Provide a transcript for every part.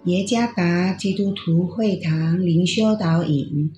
耶加达基督徒会堂灵修导引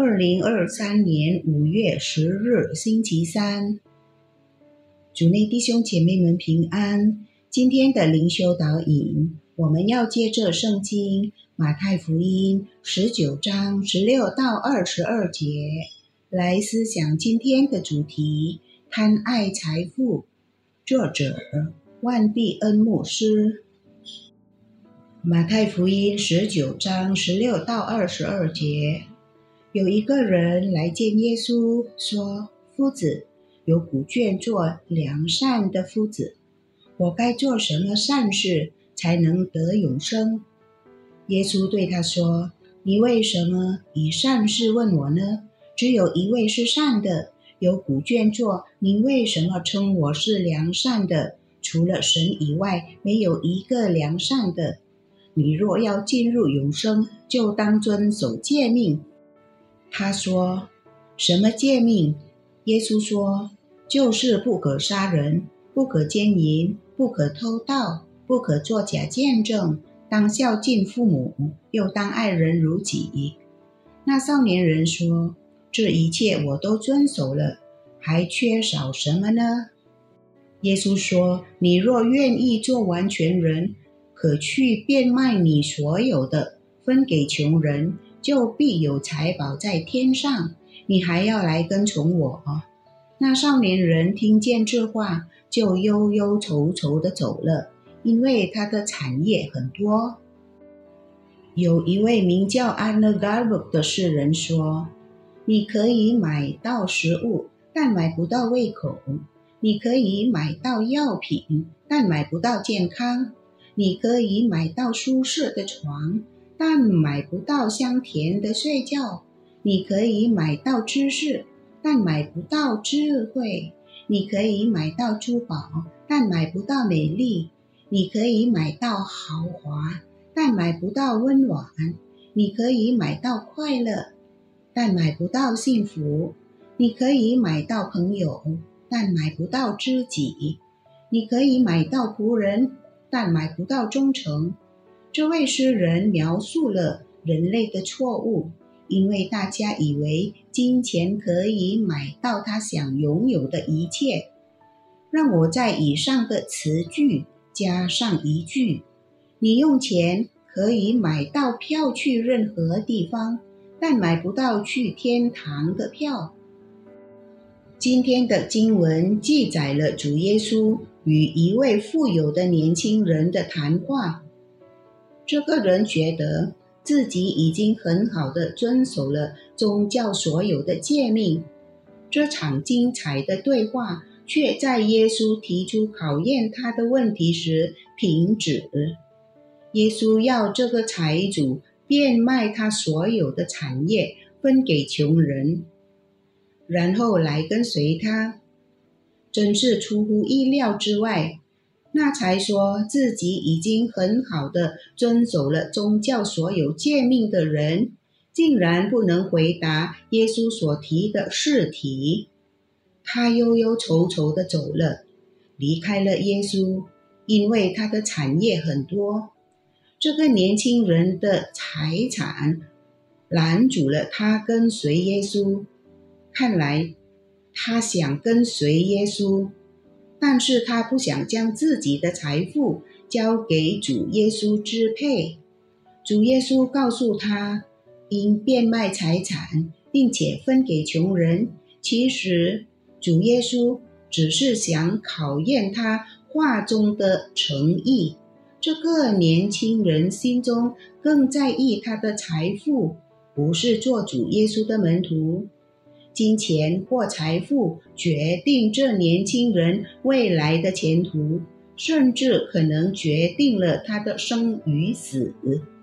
，2023年5月10日星期三。主内弟兄姐妹们平安。今天的灵修导引，我们要借着圣经马太福音19章16到22节来思想今天的主题：贪爱财富。作者万必恩牧师。马太福音19章16到22节，有一个人来见耶稣，说：夫子，有古卷做良善的夫子，我该做什么善事才能得永生？耶稣对他说：你为什么以善事问我呢？只有一位是善的，有古卷做，你为什么称我是良善的？除了神以外，没有一个良善的。你若要进入永生，就当遵守诫命。他说：什么诫命？耶稣说：就是不可杀人，不可奸淫，不可偷盗，不可作假见证，当孝敬父母，又当爱人如己。那少年人说：这一切我都遵守了，还缺少什么呢？耶稣说：你若愿意做完全人，可去变卖你所有的，分给穷人，就必有财宝在天上。你还要来跟从我。那少年人听见这话，就忧忧愁愁地走了，因为他的产业很多。有一位名叫安娜加布的士人说：你可以买到食物，但买不到胃口；你可以买到药品，但买不到健康；你可以买到舒适的床，但买不到香甜的睡觉；你可以买到知识，但买不到智慧；你可以买到珠宝，但买不到美丽；你可以买到豪华，但买不到温暖；你可以买到快乐，但买不到幸福；你可以买到朋友，但买不到知己；你可以买到仆人，但买不到忠诚。这位诗人描述了人类的错误，因为大家以为金钱可以买到他想拥有的一切。让我在以上的词句加上一句：你用钱可以买到票去任何地方，但买不到去天堂的票。今天的经文记载了主耶稣与一位富有的年轻人的谈话。这个人觉得自己已经很好地遵守了宗教所有的诫命。这场精彩的对话却在耶稣提出考验他的问题时停止。耶稣要这个财主变卖他所有的产业，分给穷人，然后来跟随他。真是出乎意料之外，那才说自己已经很好地遵守了宗教所有诫命的人，竟然不能回答耶稣所提的试题。他忧忧愁愁地走了，离开了耶稣，因为他的产业很多。这个年轻人的财产拦阻了他跟随耶稣。看来他想跟随耶稣，但是他不想将自己的财富交给主耶稣支配。主耶稣告诉他，应变卖财产，并且分给穷人。其实主耶稣只是想考验他话中的诚意。这个年轻人心中更在意他的财富，不是做主耶稣的门徒。金钱或财富决定这年轻人未来的前途，甚至可能决定了他的生与死。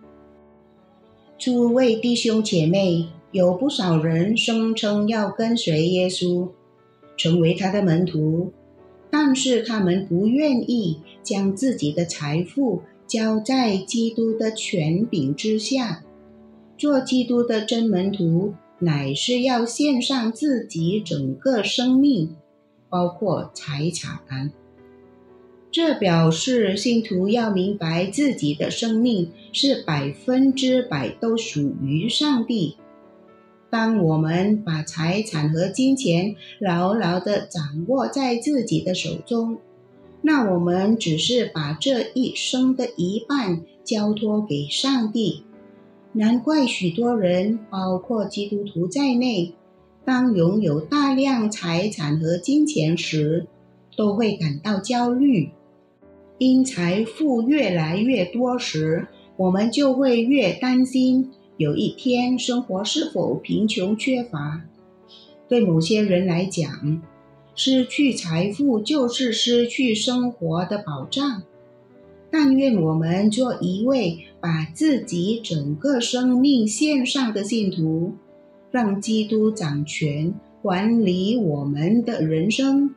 诸位弟兄姐妹，有不少人声称要跟随耶稣，成为他的门徒，但是他们不愿意将自己的财富交在基督的权柄之下。做基督的真门徒，乃是要献上自己整个生命，包括财产。 这表示信徒要明白自己的生命是100%都属于上帝。当我们把财产和金钱牢牢地掌握在自己的手中，那我们只是把这一生的一半交托给上帝。难怪许多人，包括基督徒在内，当拥有大量财产和金钱时，都会感到焦虑。因财富越来越多时，我们就会越担心有一天生活是否贫穷缺乏。对某些人来讲，失去财富就是失去生活的保障。但愿我们做一位把自己整个生命献上的信徒，让基督掌权管理我们的人生。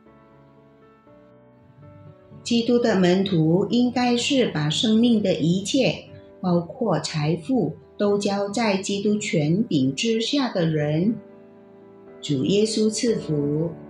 基督的门徒应该是把生命的一切，包括财富，都交在基督权柄之下的人。主耶稣赐福。